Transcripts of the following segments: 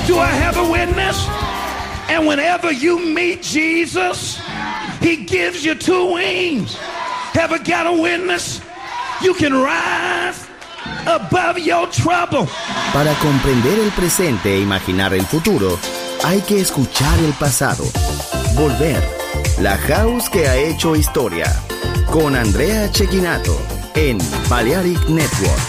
Do I have a witness? And whenever you meet Jesus, he gives you two wings. Have I got a witness? You can rise above your trouble. Para comprender el presente e imaginar el futuro, hay que escuchar el pasado. Volver. La house que ha hecho historia. Con Andrea Cecchinato en Balearic Network.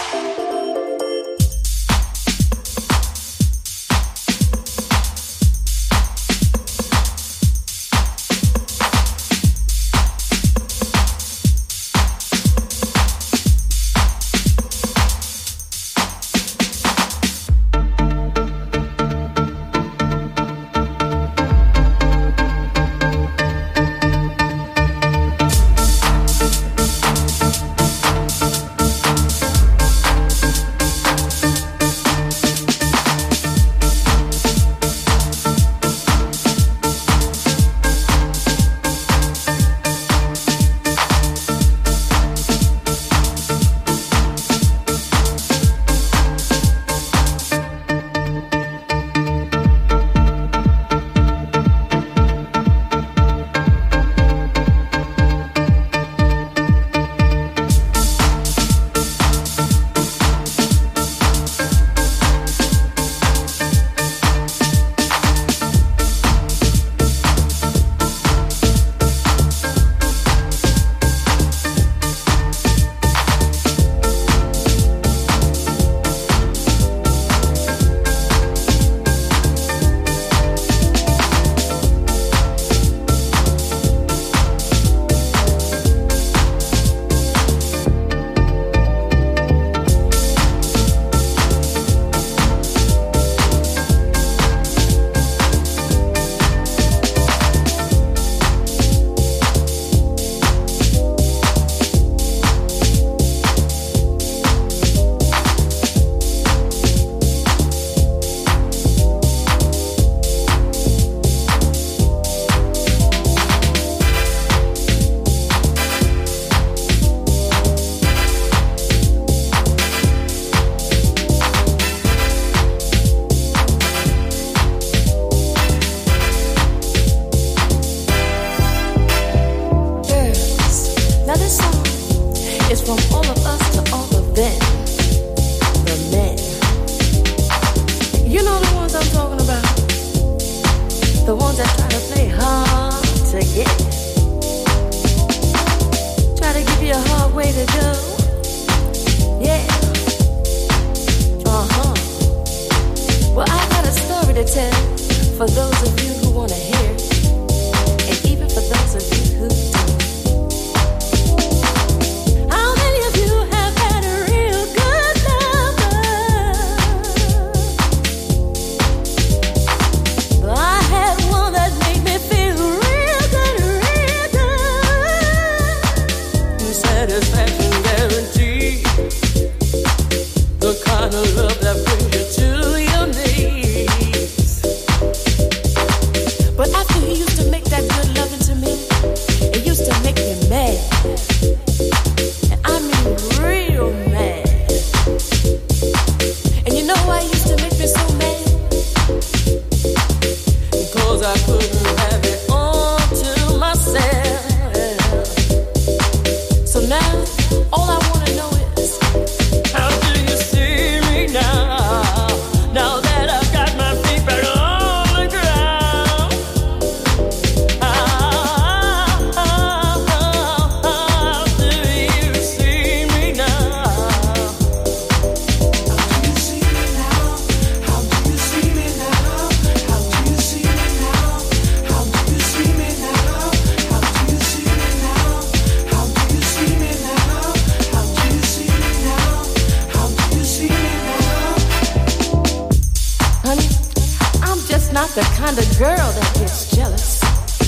The kind of girl that gets jealous.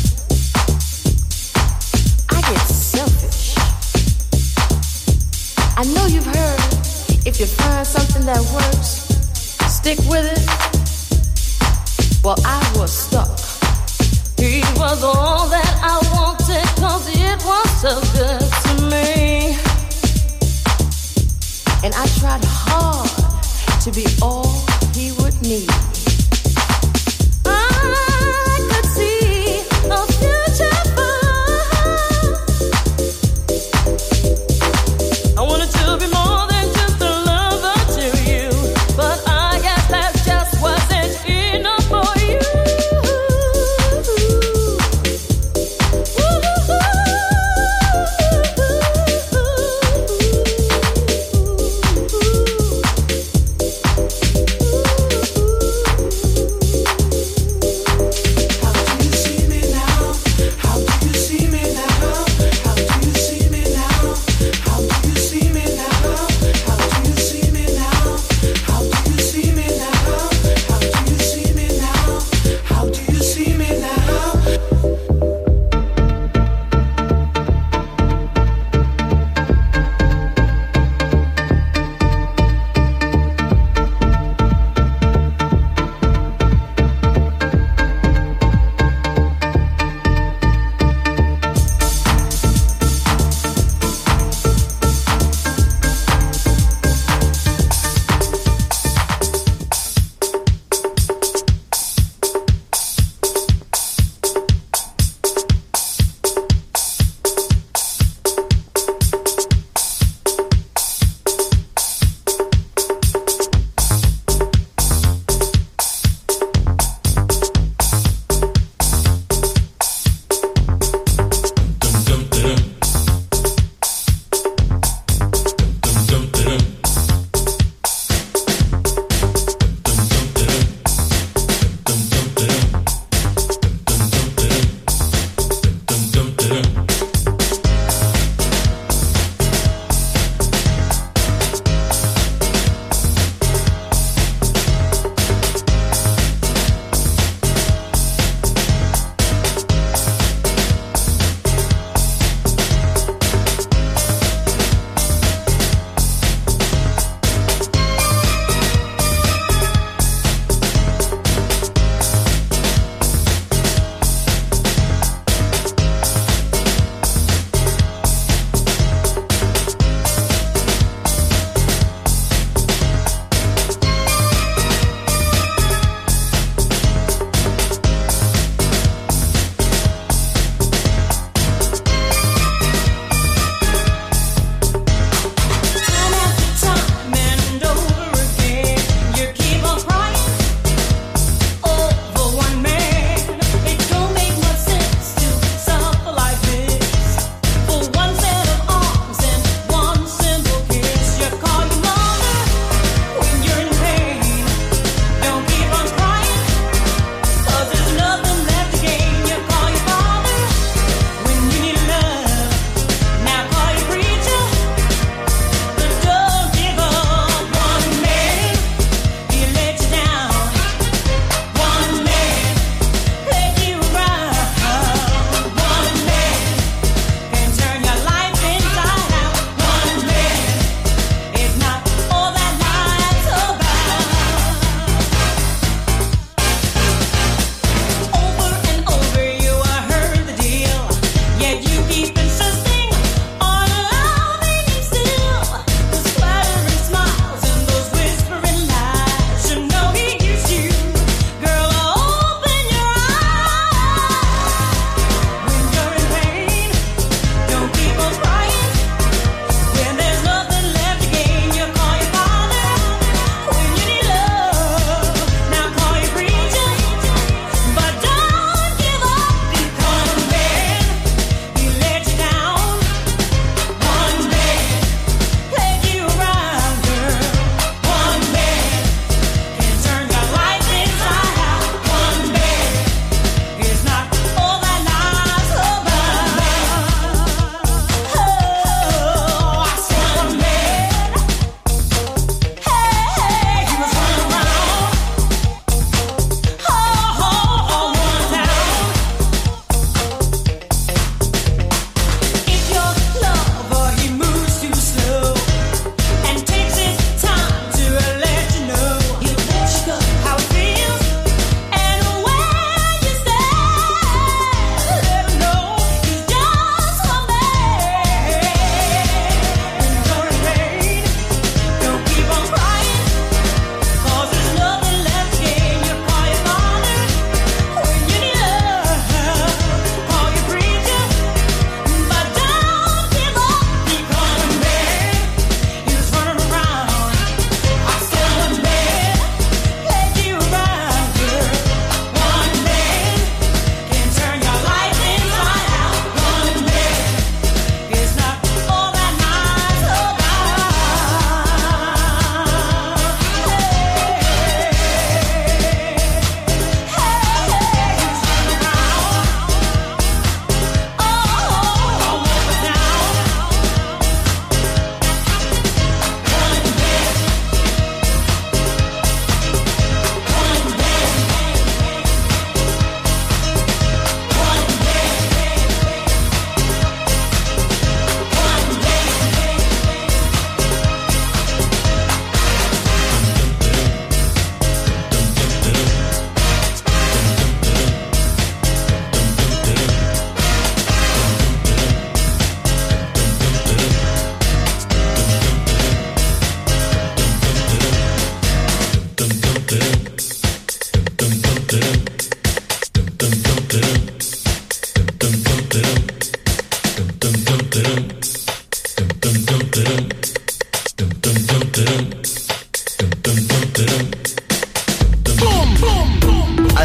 I get selfish. I know you've heard, if you find something that works, stick with it. Well, I was stuck. He was all that I wanted, 'cause it was so good to me. And I tried hard to be all he would need.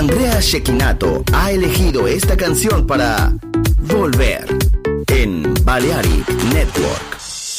Andrea Cecchinato ha elegido esta canción para volver en Balearic Network.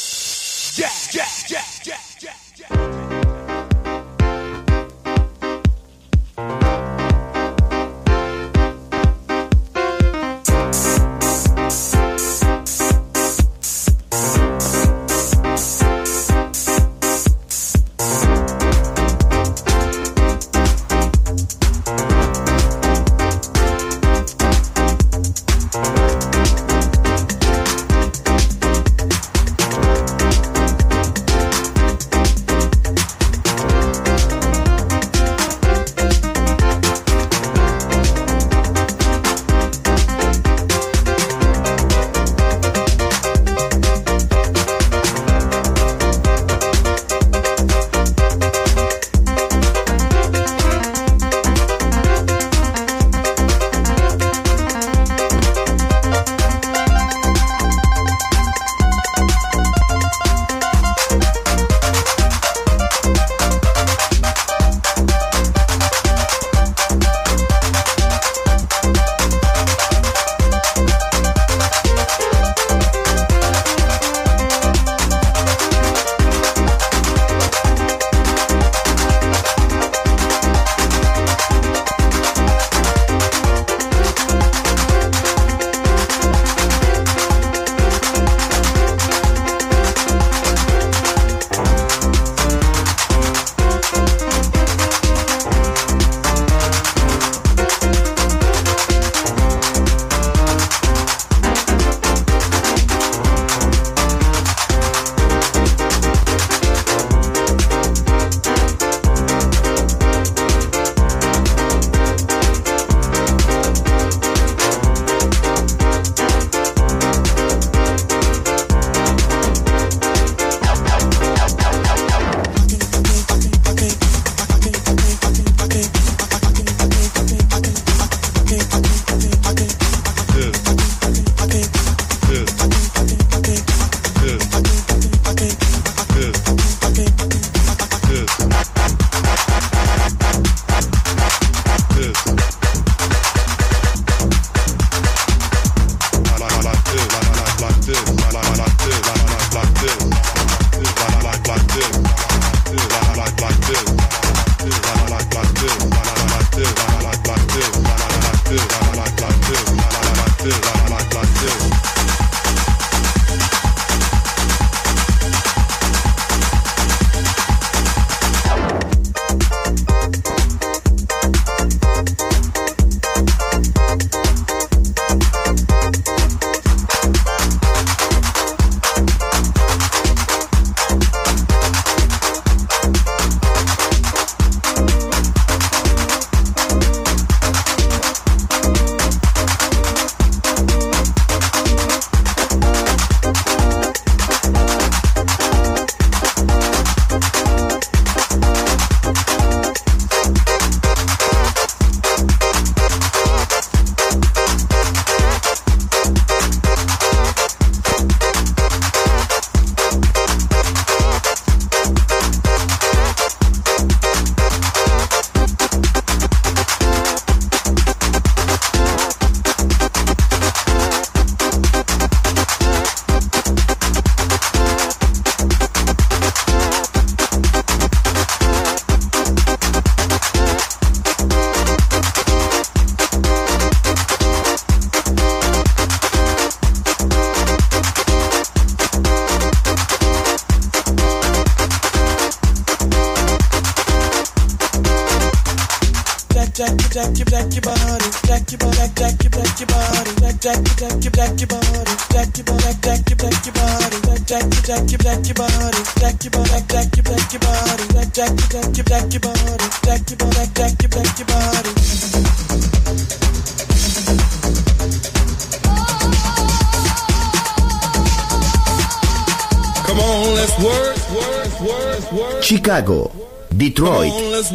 Chicago, Detroit,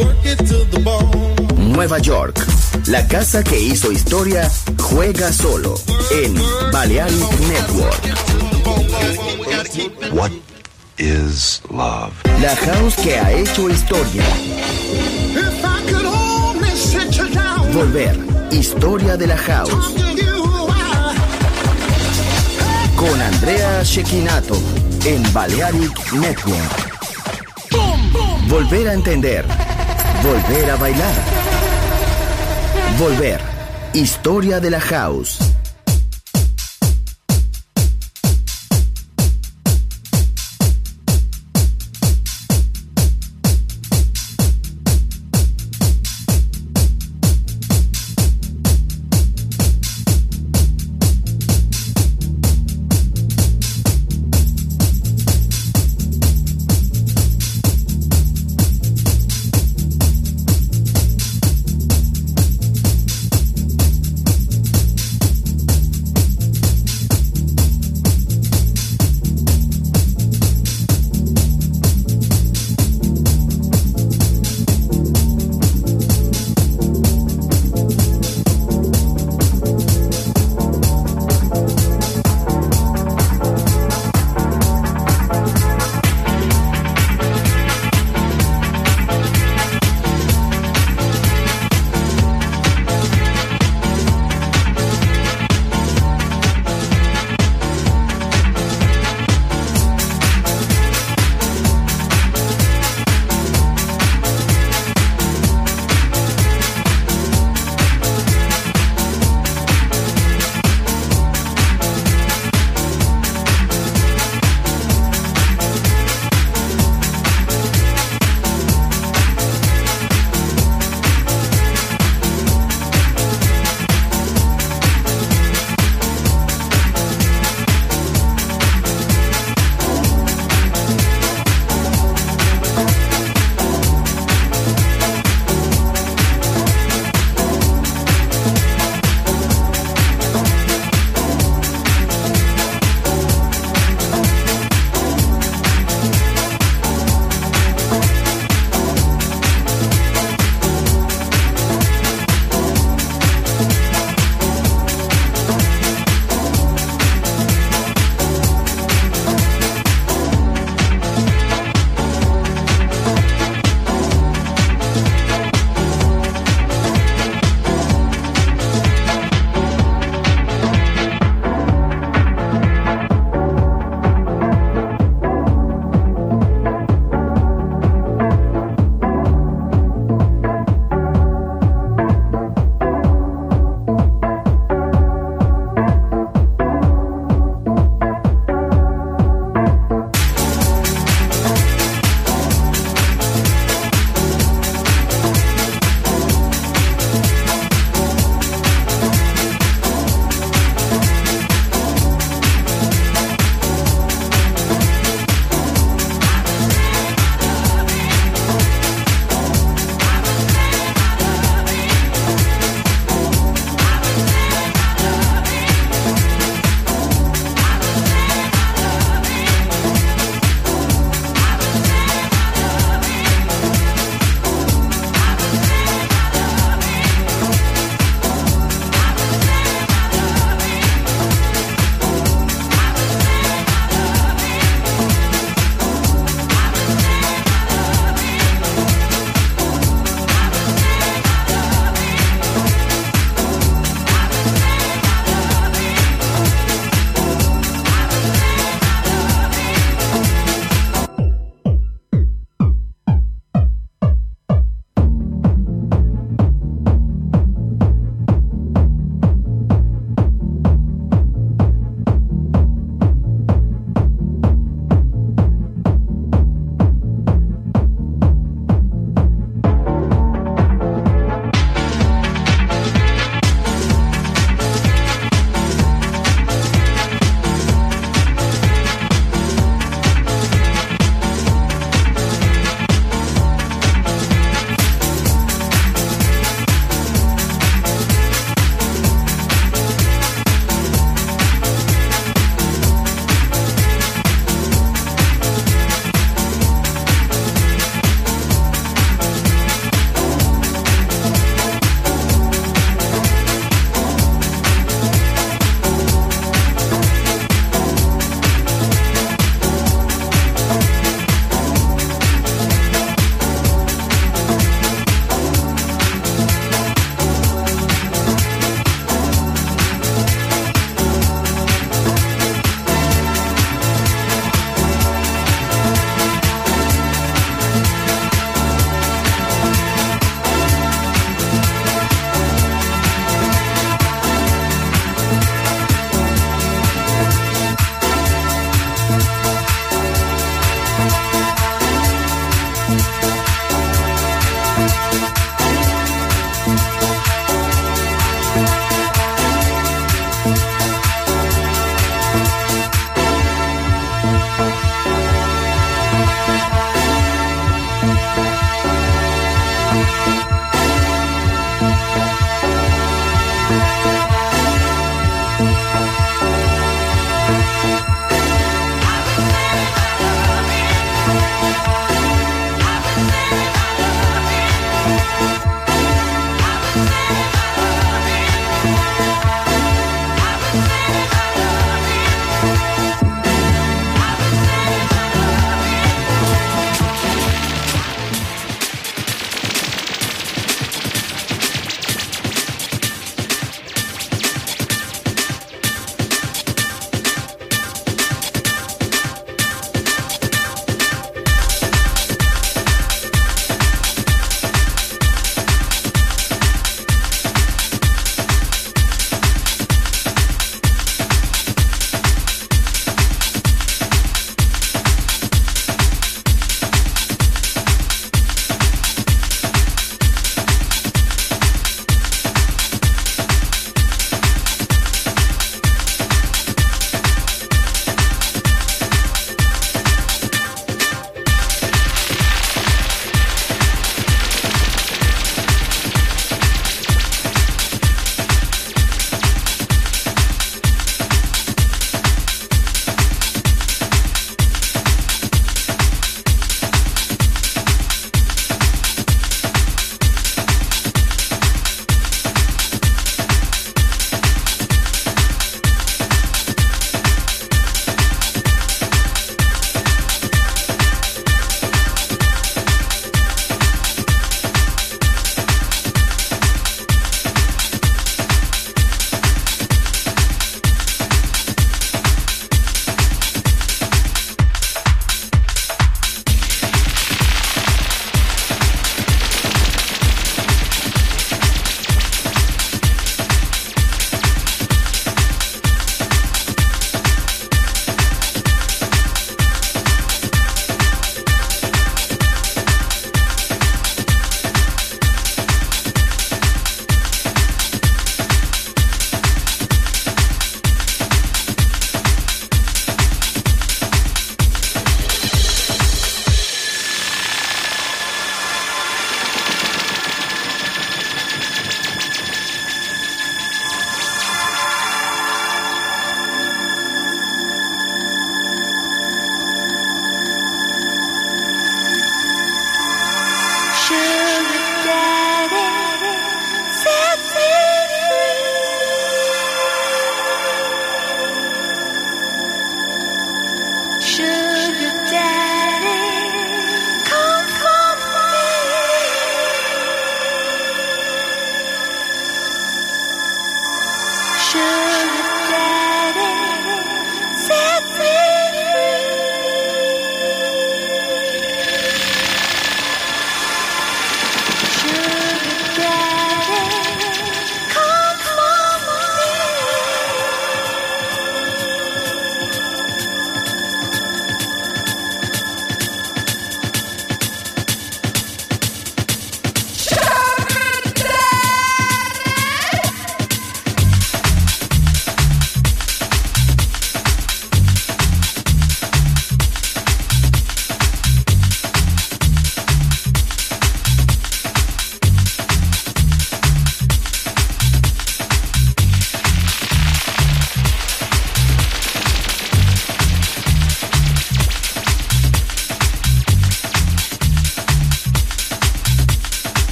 Nueva York. La casa que hizo historia juega solo en Balearic Network. What is love? La house que ha hecho historia. Volver, historia de la house. Con Andrea Cecchinato en Balearic Network. Volver a entender. Volver a bailar. Volver, historia de la house.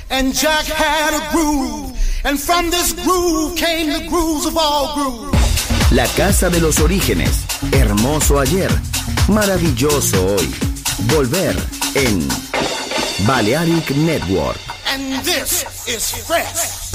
And Jack had a groove, and from this groove came the grooves of all grooves. La casa de los orígenes, hermoso ayer, maravilloso hoy. Volver en Balearic Network. And this is fresh.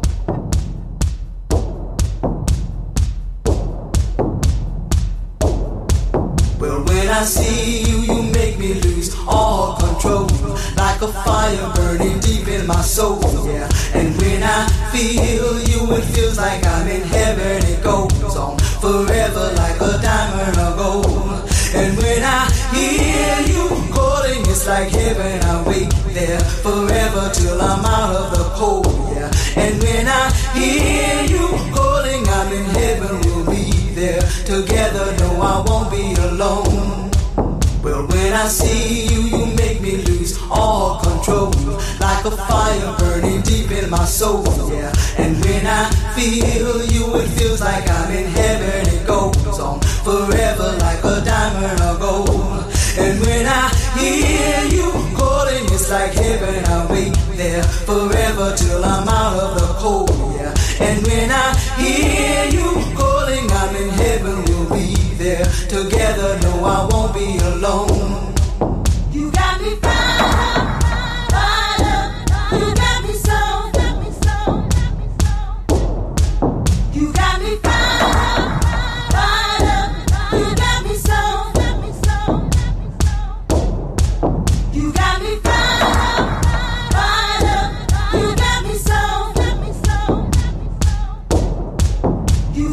Well, when I see you, you make me lose all control. Like a fire burning deep in my soul, yeah. And when I feel you, it feels like I'm in heaven. It goes on forever like a diamond of gold. And when I hear you calling, it's like heaven. I wait there forever till I'm out of the cold, yeah. And when I hear you calling, I'm in heaven. We'll be there together. No, I won't be alone. Well, when I see you, you make me lose all control. Like a fire burning deep in my soul, yeah. And when I feel you, it feels like I'm in heaven. It goes on forever like a diamond of gold. And when I hear you calling, it's like heaven. I wait there forever till I'm out of the cold, yeah. And when I hear you calling, I'm in heaven. We'll be there together. No, I won't be alone. You got me fired up. You got me so. You got me fired up. You got me so. You got me fired up. You got me so. You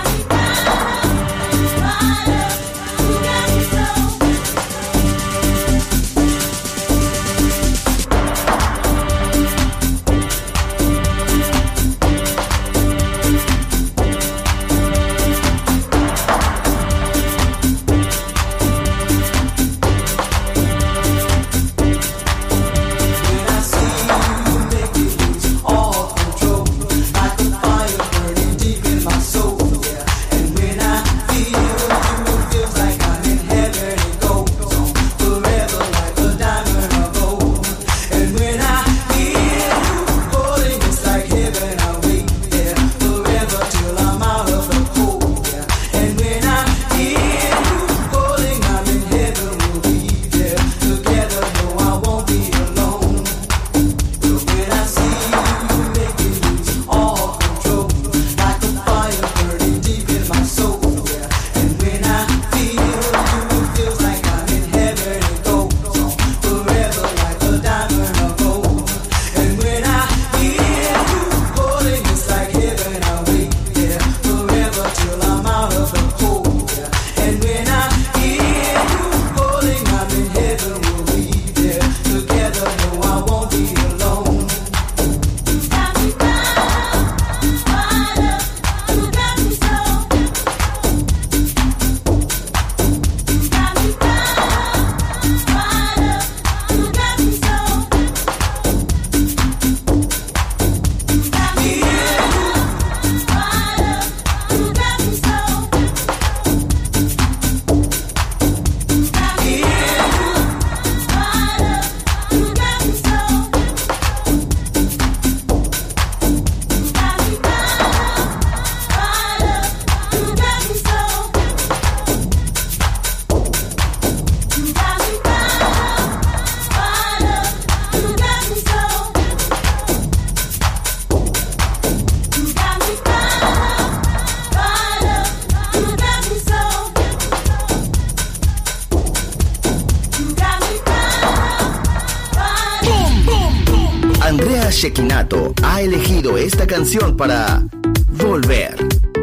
Andrea Cecchinato ha elegido esta canción para Volver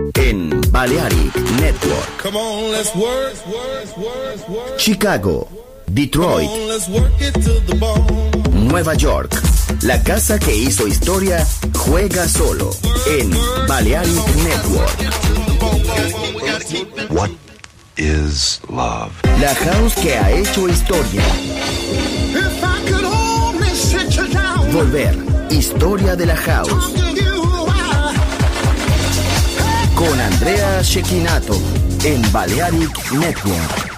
en Balearic Network. Come on, let's work. Chicago, Detroit, Come on, let's work it to the bone. Nueva York. La casa que hizo historia juega solo en Balearic Network. What is love? La house que ha hecho historia. If I could only sit you down, Volver, historia de la house. talk to you, Con Andrea Cecchinato en Balearic Network.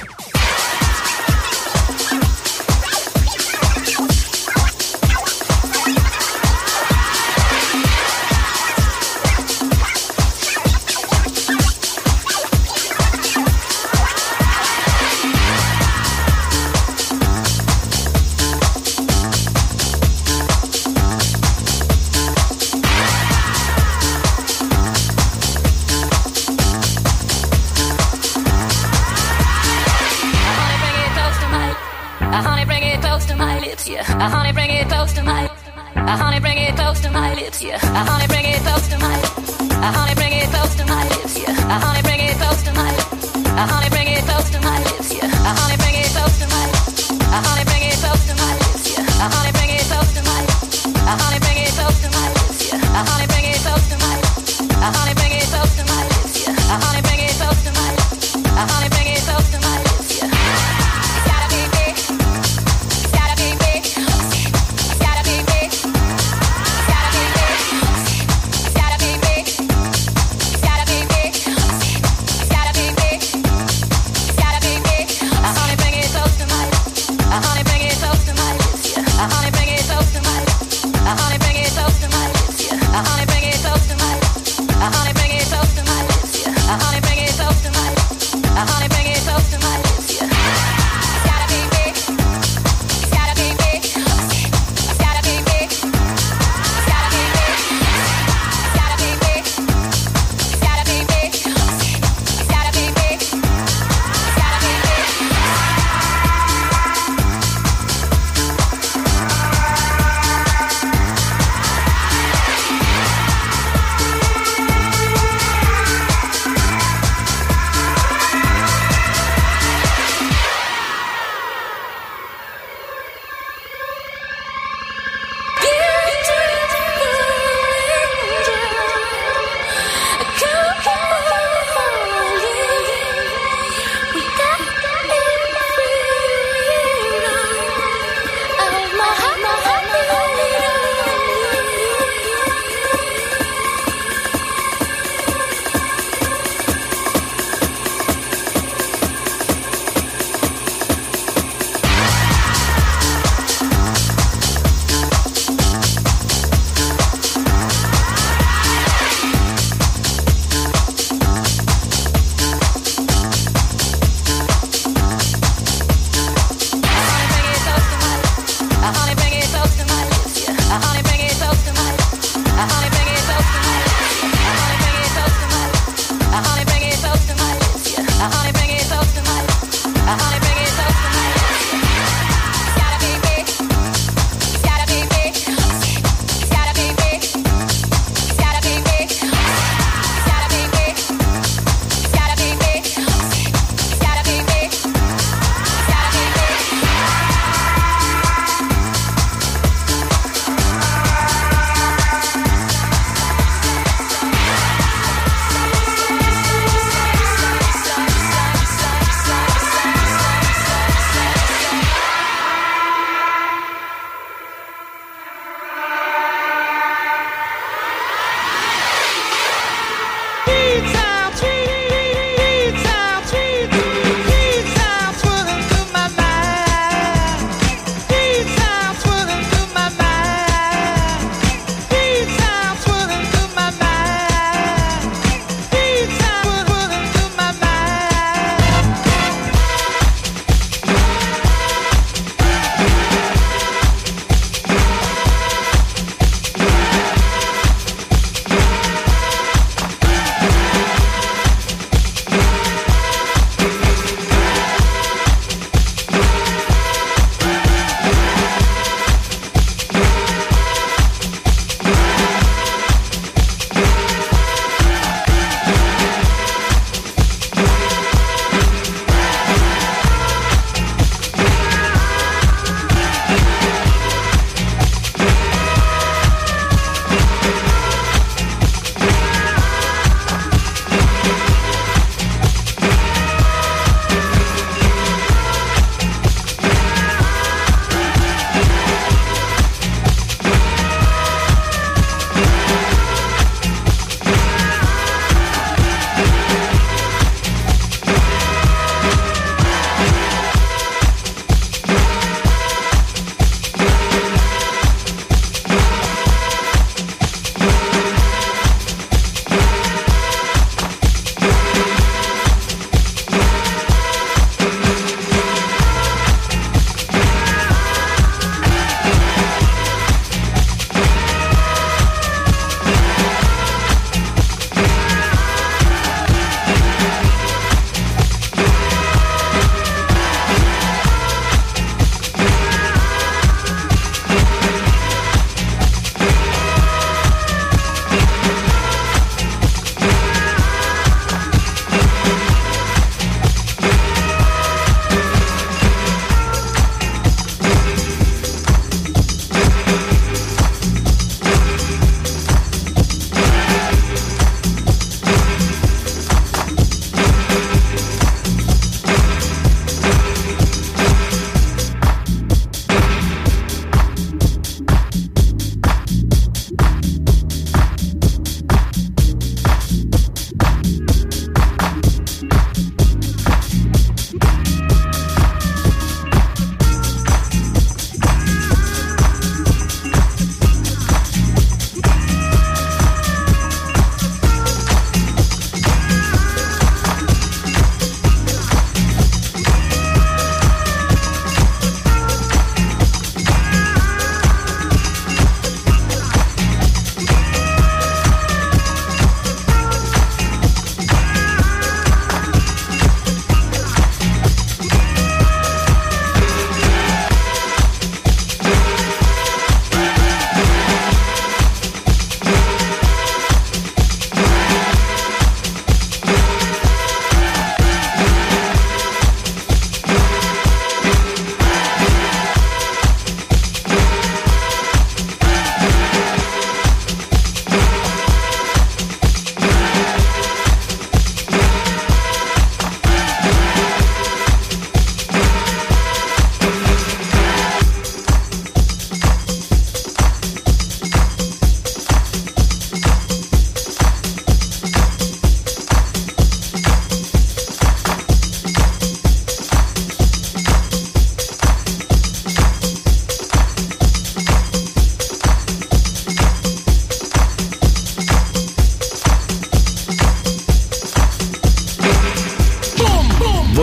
Honey, bring it close to my, honey, bring it close to my lips, yeah. Honey, bring it close to my, honey, bring it close to my lips, yeah. Honey, bring it close to my, honey, bring it close to my lips, yeah. Honey, bring it close to my, honey, bring it close to my lips, yeah. Honey, bring it close to my, honey, bring it close to my lips, yeah. Honey, bring it close to my, honey, bring it close to my lips, yeah. Honey, bring it close to my, honey, bring it close to my lips, yeah. It's gotta be big. It's gotta be big. It's gotta be big. It's gotta be big. It's gotta be big. It's gotta be big. It's gotta be big. It's gotta be big. Honey, bring it close to my, honey, bring it close to my lips, yeah. Honey, bring it close to my, honey, bring it close to my lips, yeah. Honey, bring it close to my, honey, bring it close to my lips, yeah. Honey, bring it close to my, honey, bring it close to my lips, yeah. It's gotta be big. It's gotta be big. It's gotta be big. It's gotta be big. It's gotta be big. It's gotta be big. It's gotta be big. It's gotta be big.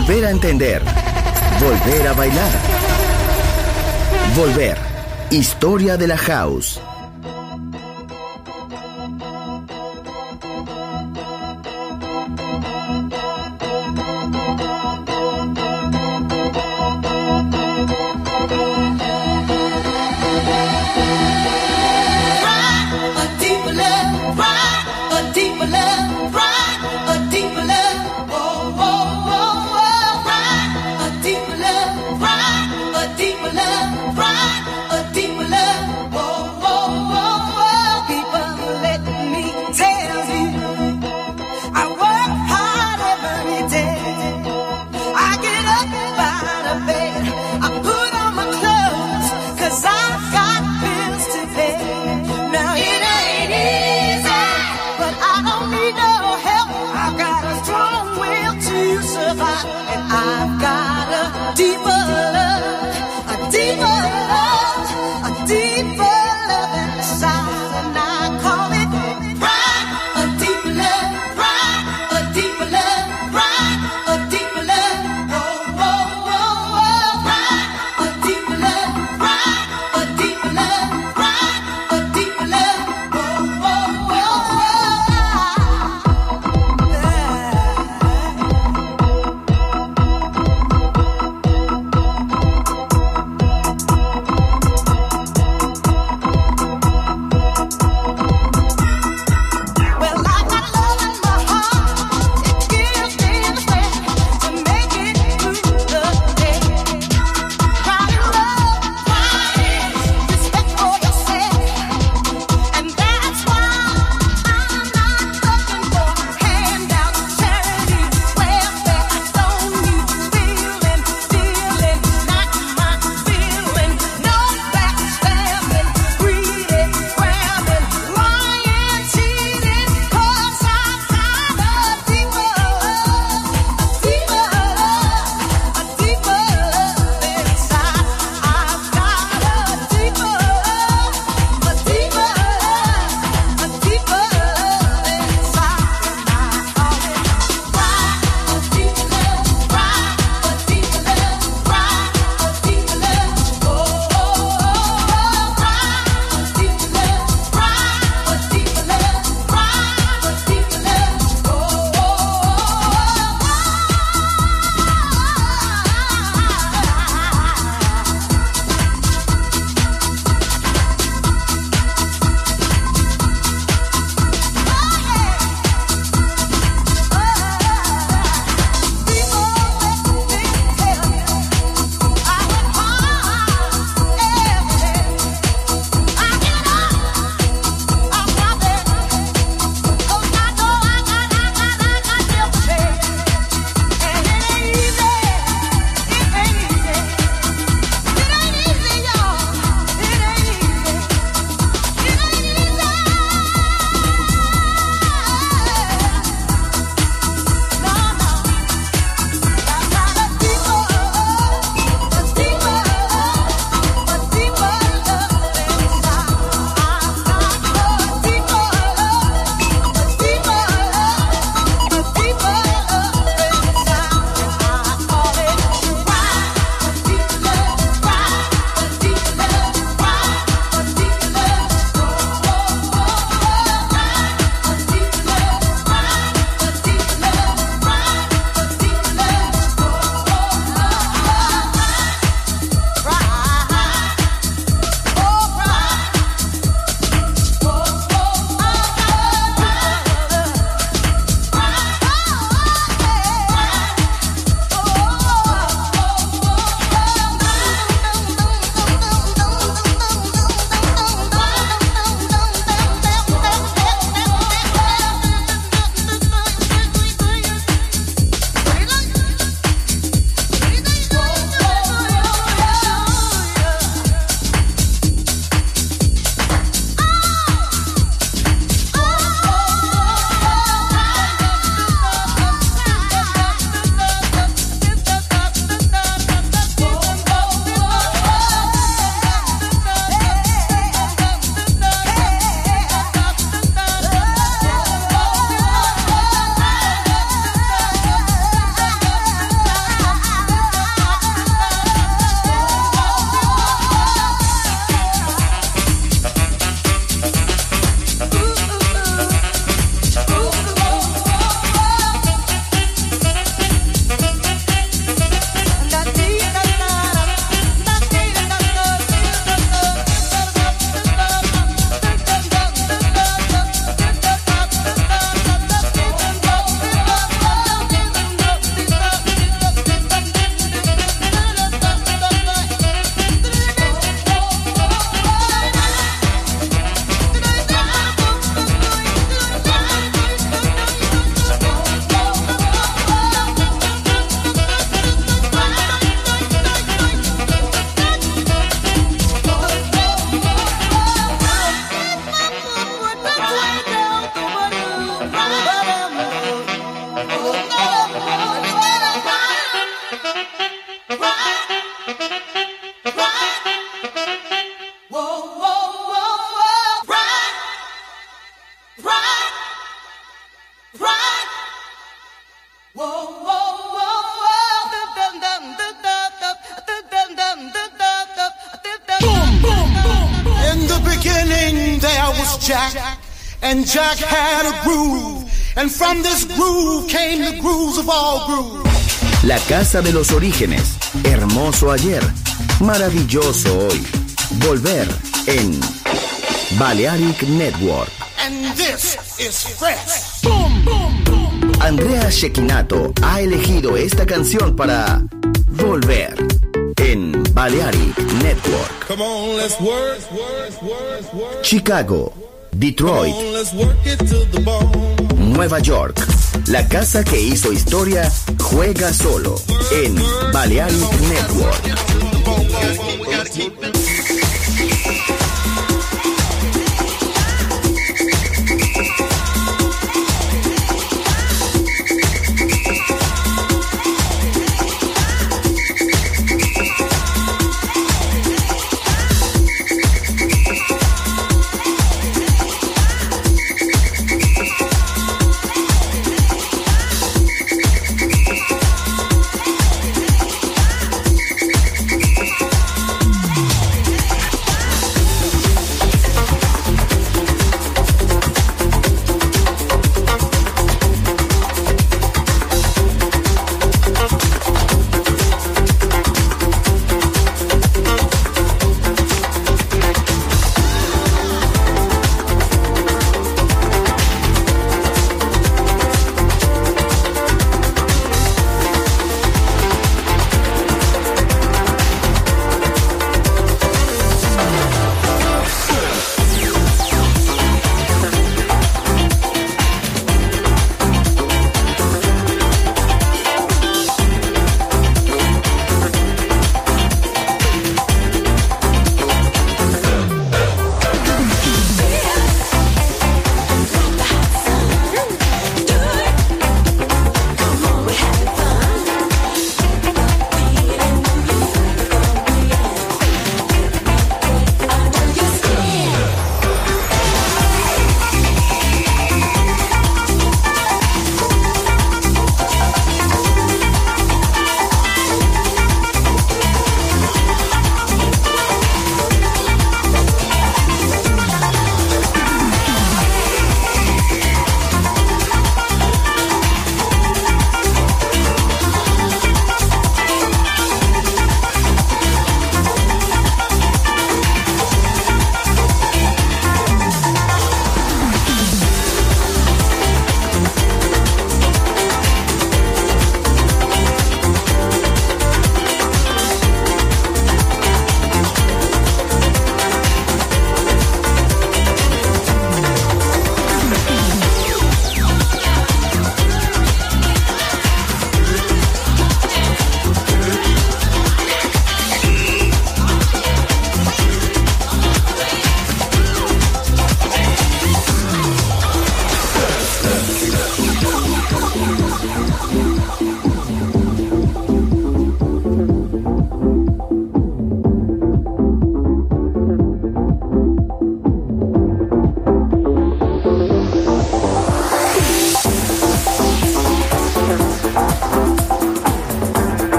Volver a entender. Volver a bailar. Volver. Historia de la house. I work hard. Jack, and Jack had a groove, and from this groove came the grooves of all grooves. La casa de los orígenes, hermoso ayer, maravilloso hoy. Volver en Balearic Network. And this is fresh. Boom, boom, boom. Andrea Cecchinato ha elegido esta canción para Volver en Balearic Network. Come on, let's work. Chicago, Detroit, Come on, let's work it to the bone. Nueva York. La casa que hizo historia juega solo en Balearic Network.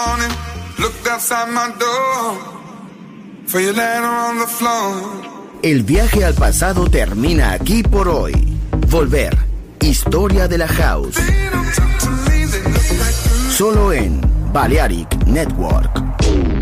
morning, looked outside my door for your letter on the floor. El viaje al pasado termina aquí por hoy. Volver. Historia de la House. Solo en Balearic Network.